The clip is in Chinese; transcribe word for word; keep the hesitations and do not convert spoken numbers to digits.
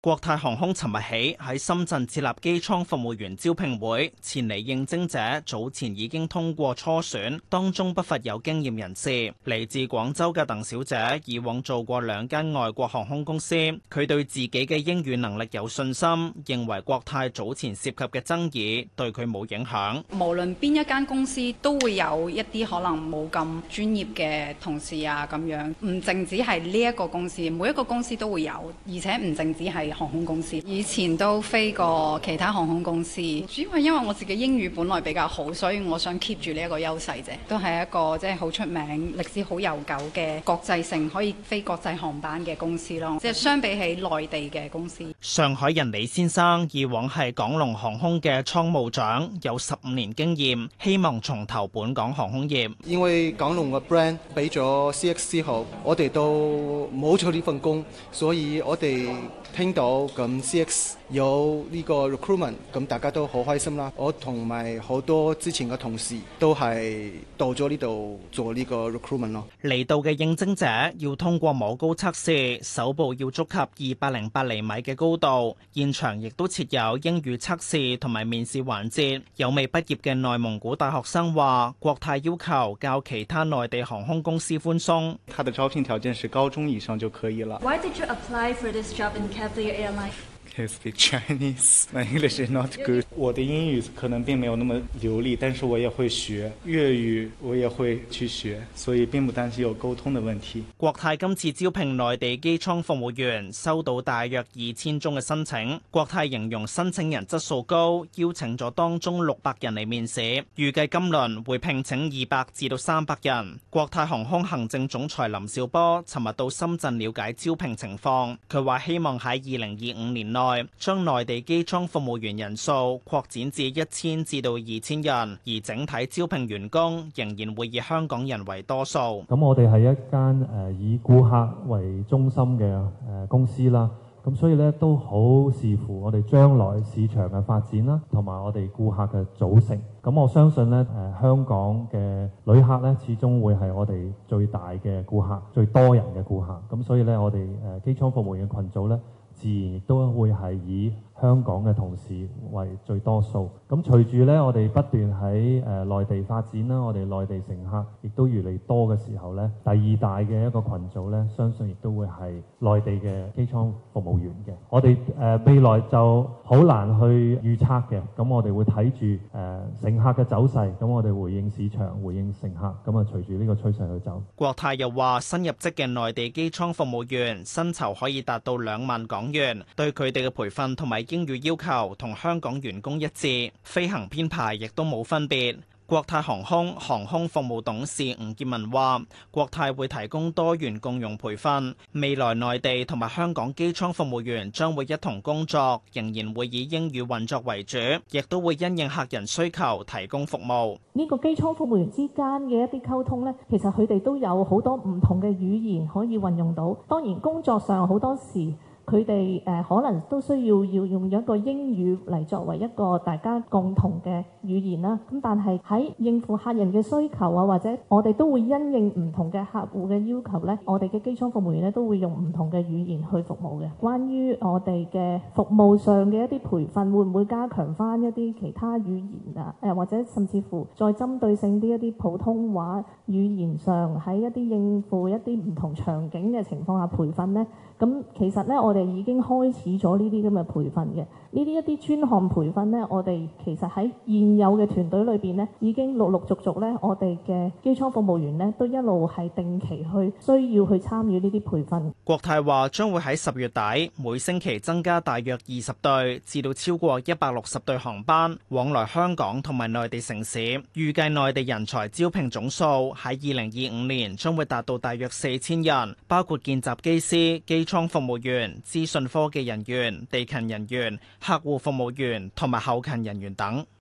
國泰航空尋日起喺深圳設立機艙服務員招聘會，前嚟應徵者早前已經通過初選，當中不乏有經驗人士。嚟自廣州嘅鄧小姐以往做過兩間外國航空公司，佢對自己嘅英語能力有信心，認為國泰早前涉及嘅爭議對佢冇影響。 無論邊一間公司都會有一啲可能冇咁專業嘅同事啊，咁樣唔淨止係呢一個公司，每一個公司都會有，而且唔淨止係航空公司，以前都飛過其他航空公司，主要係因為我自己英語本來比較好，所以我想 keep 住呢一個優勢啫。都係一個即係好出名、歷史好悠久嘅國際性可以飛國際航班嘅公司咯。即係相比起內地嘅公司。 上海人李先生以往係港龍航空嘅倉務長，有十五年經驗，希望重投本港航空業。 因為港龍嘅 brand 俾咗 C X 之後，我哋都冇咗呢份工，所以我哋聽到咁 C X 有呢個 recruitment， 咁大家都好開心啦。我同埋好多之前嘅同事都係到咗呢度做呢個 recruitment 咯。 嚟到嘅應徵者要通過摸高測試，手部要觸及二百零八厘米嘅高度。現場亦都設有英語測試同埋面試環節。有未畢業嘅內蒙古大學生話，國泰要求較其他內地航空公司寬鬆。 他的招聘條件是高中以上就可以了。 Why did you apply for this job in Cathay Airlines? I speak Chinese. My English is not good. 我的英語可能並沒有那麼流利，但是我也會學粵語，我也會去學，所以並不擔心有溝通的問題。 國泰今次招聘內地機艙服務員，收到大約二千宗嘅申請。國泰形容申請人質素高，邀請咗當中六百人嚟面試，預計今輪會聘請二百至到三百人。國泰航空行政總裁林紹波尋日到深圳了解招聘情況，佢話希望喺二零二五年內將內地機艙服務員人數擴展至一千至到二千人，而整體招聘員工仍然會以香港人為多數。 咁我哋係一間誒以顧客為中心嘅誒公司啦，咁所以咧都好視乎我哋將來市場嘅發展啦，同埋我哋顧客嘅組成。咁我相信咧誒香港嘅旅客咧始終會係我哋最大嘅顧客，最多人嘅顧客。咁所以咧我哋誒機艙服務員嘅群組咧，自然亦都會係以香港嘅同事為最多數。咁隨住咧，我哋不斷喺誒內地發展啦，我哋內地乘客亦都越嚟越多嘅時候咧，第二大嘅一個群組咧，相信亦都會係內地嘅機艙服務員嘅。我哋誒未來就好難去預測嘅，咁我哋會睇住誒乘客嘅走勢，咁我哋回應市場、回應乘客，咁啊隨住呢個趨勢去走。 國泰又話，新入職嘅內地機艙服務員薪酬可以達到兩萬港元，對佢哋嘅培訓同埋英語要求同香港員工一致，飛行編排亦都冇分別。國泰航空航空服務董事吳建文話，國泰會提供多元共融培訓，未來內地同埋香港機艙服務員將會一同工作，仍然會以英語運作為主，亦都會因應客人需求提供服務。 呢個機艙服務員之間嘅一啲溝通呢，其實佢哋都有好多唔同嘅語言可以運用到。當然工作上好多時，佢哋誒可能都需要要用一個英語嚟作為一個大家共同嘅語言啦。咁但係喺應付客人嘅需求啊，或者我哋都會因應唔同嘅客戶嘅要求咧，我哋嘅機艙服務員咧都會用唔同嘅語言去服務嘅。關於我哋嘅服務上嘅一啲培訓，會唔會加強翻一啲其他語言啊？誒或者甚至乎再針對性啲一啲普通話語言上喺一啲應付一啲唔同場景嘅情況下培訓咧？咁其實咧，我哋已經開始咗呢啲咁嘅培訓嘅，呢啲一啲專項培訓咧，我哋其實喺現有嘅團隊裏邊咧，已經陸陸續續咧，我哋嘅機艙服務員咧，都一路係定期去需要去參與呢啲培訓。 國泰話將會喺十月底每星期增加大約二十對至到超過一百六十對航班往來香港同埋內地城市，預計內地人才招聘總數喺二零二五年將會達到大約四千人，包括見習機師、機艙服務員、資訊科技人員、地勤人員、客戶服務員同埋後勤人員等。